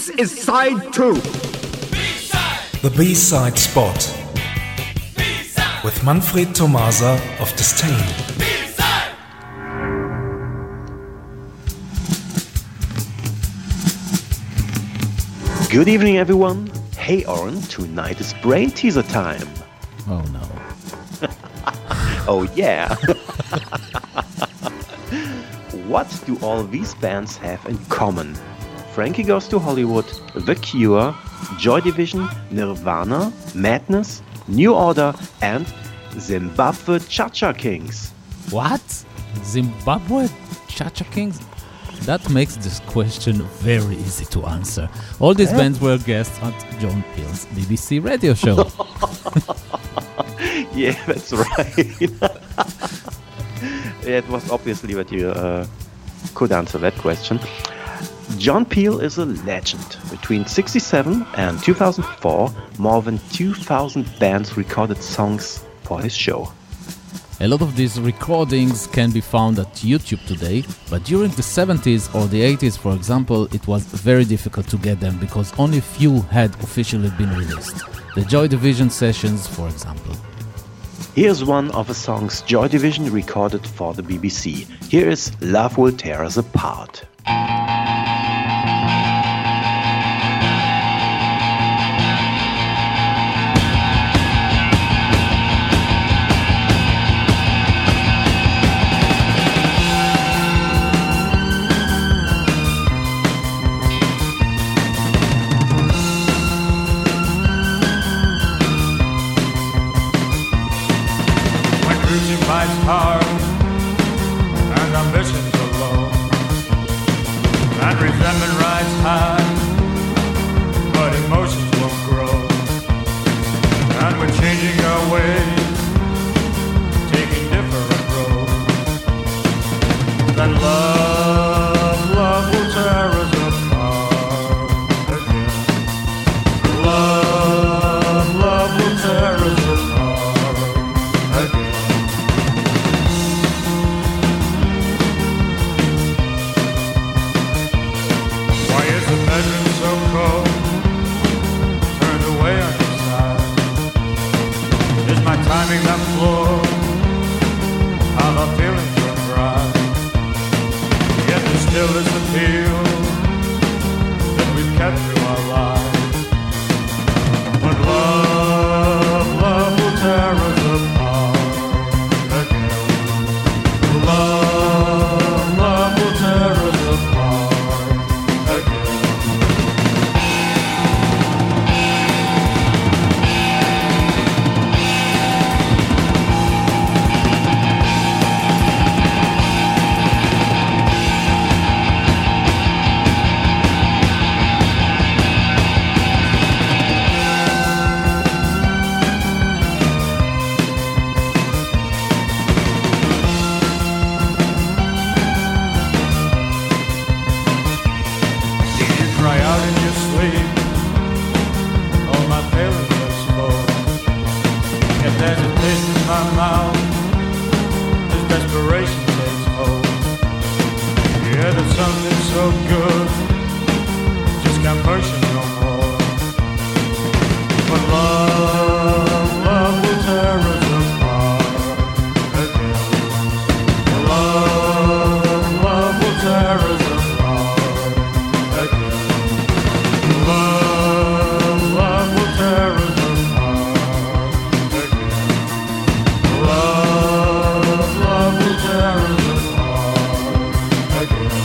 This is side 2. The B-side spot. With Manfred Tomasa of Disdain. Good evening, everyone. Hey, Oren, tonight is brain teaser time. Oh, no. Oh, yeah. What do all these bands have in common? Frankie Goes to Hollywood, The Cure, Joy Division, Nirvana, Madness, New Order, and Zimbabwe Cha-Cha Kings. What? Zimbabwe Cha-Cha Kings? That makes this question very easy to answer. All these bands were guests at John Peel's BBC radio show. Yeah, that's right. It was obviously that you could answer that question. John Peel is a legend. Between 1967 and 2004, more than 2,000 bands recorded songs for his show. A lot of these recordings can be found at YouTube today, but during the 70s or the 80s, for example, it was very difficult to get them because only few had officially been released. The Joy Division sessions, for example. Here's one of the songs Joy Division recorded for the BBC. Here is Love Will Tear Us Apart. Life's hard and ambitions are low, and resentment rides high, but emotions won't grow. And we're changing our ways, taking different roads. Then love will tear us apart again. Love will tear us apart again. So cold, turned away on your side. Is my timing that flawed? How the feelings run dry. Yet there still is appeal that we've kept through our lives. But love will tear us apart again. Love will tear us apart again. Cry out in your sleep, all my feelings explode. If there's a taste in my mouth, this desperation takes hold. Yeah, there's something so good, just can't push it no more. But love will tear us apart again. Love will tear us apart again. Love will tear us apart again. Love will tear us apart again.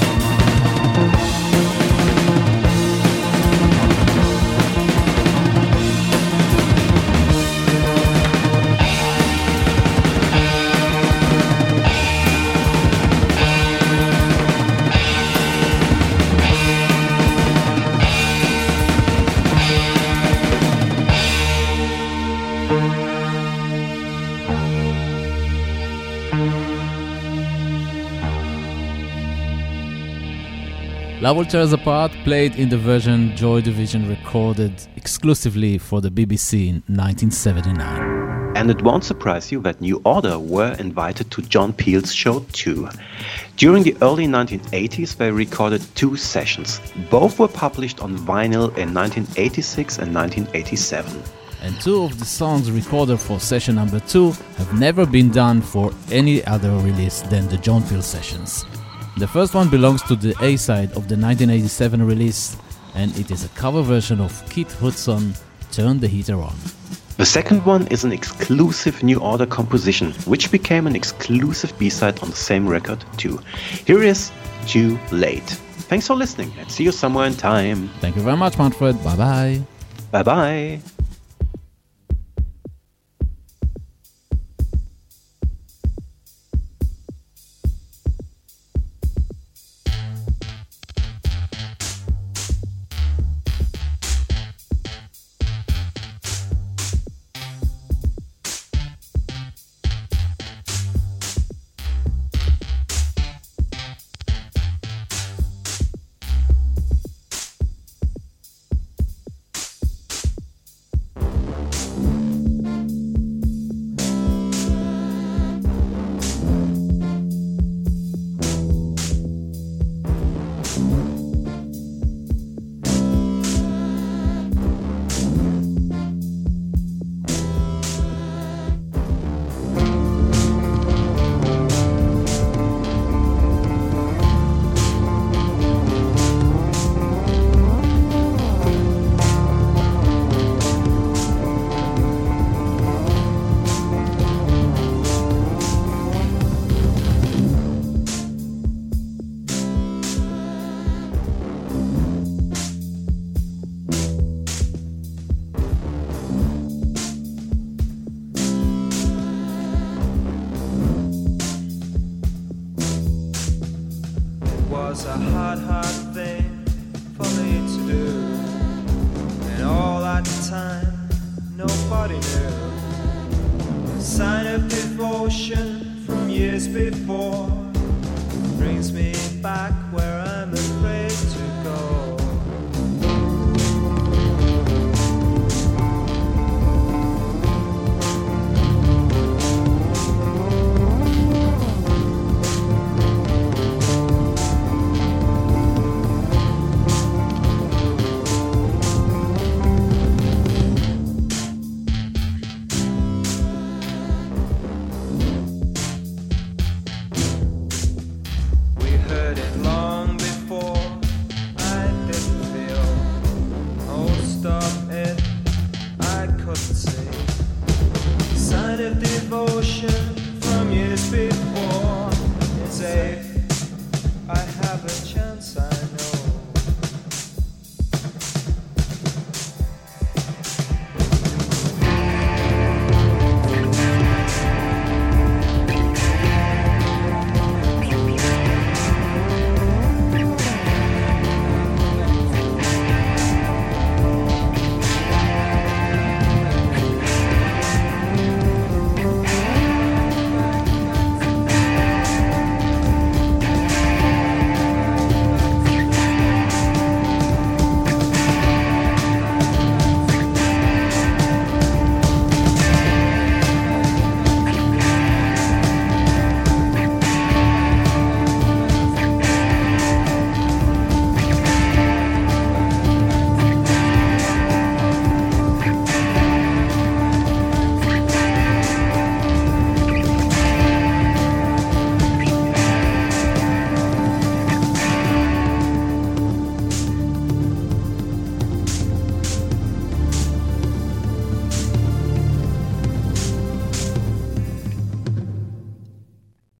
Love Will Tear Us Apart played in the version Joy Division recorded exclusively for the BBC in 1979. And it won't surprise you that New Order were invited to John Peel's show too. During the early 1980s, they recorded 2 sessions. Both were published on vinyl in 1986 and 1987. And 2 of the songs recorded for session number 2 have never been done for any other release than the John Peel sessions. The first one belongs to the A-side of the 1987 release, and it is a cover version of Keith Hudson, Turn the Heater On. The second one is an exclusive New Order composition, which became an exclusive B-side on the same record too. Here is Too Late. Thanks for listening and see you somewhere in time. Thank you very much, Manfred. Bye-bye. Bye-bye. Was a hard thing for me to do, and all at the time nobody knew. A sign of devotion from years before.